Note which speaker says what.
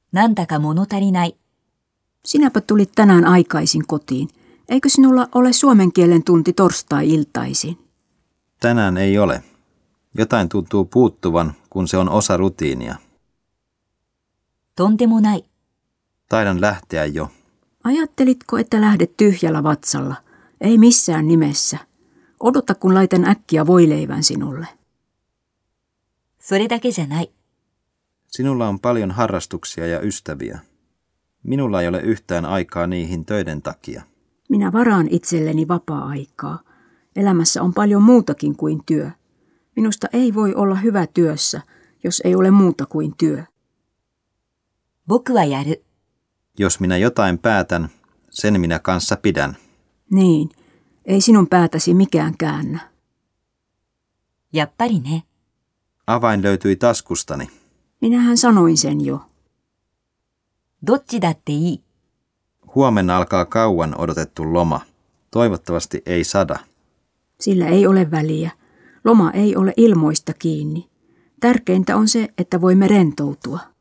Speaker 1: なんだか物足りない。
Speaker 2: Sinäpä tulit tänään aikaisin kotiin. Eikö sinulla ole suomen kielen tunti torstai-iltaisin?
Speaker 3: Tänään ei ole. Jotain tuntuu puuttuvan, kun se on osa rutiinia.
Speaker 1: とんでもない。
Speaker 3: Taidan lähteä jo.
Speaker 2: Ajattelitko, että lähdet tyhjällä vatsalla? Ei missään nimessä. Odota, kun laitan äkkiä voileivän sinulle.
Speaker 1: それだけじゃない。
Speaker 3: Sinulla on paljon harrastuksia ja ystäviä. Minulla ei ole yhtään aikaa niihin töiden takia.
Speaker 2: Minä varaan itselleni vapaa-aikaa. Elämässä on paljon muutakin kuin työ. Minusta ei voi olla hyvä työssä, jos ei ole muuta kuin työ.
Speaker 1: 僕はやる。
Speaker 3: Jos minä jotain päätän, sen minä kanssa pidän.
Speaker 2: Niin, ei sinun päätäsi mikään käännä.
Speaker 1: やっぱりね。
Speaker 3: Avain löytyi taskustani.
Speaker 2: Minähän sanoin sen jo.
Speaker 1: どっちだっていい。
Speaker 3: Huomenna alkaa kauan odotettu loma. Toivottavasti ei sada.
Speaker 2: Sillä ei ole väliä. Loma ei ole ilmoista kiinni. Tärkeintä on se, että voimme rentoutua.